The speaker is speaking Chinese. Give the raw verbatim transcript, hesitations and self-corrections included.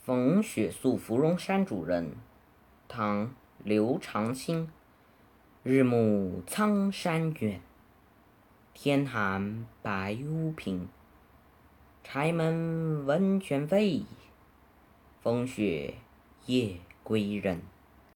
风雪宿芙蓉山主人，唐·刘长卿。日暮苍山远，天寒白屋贫。柴门温泉飞，风雪夜归人。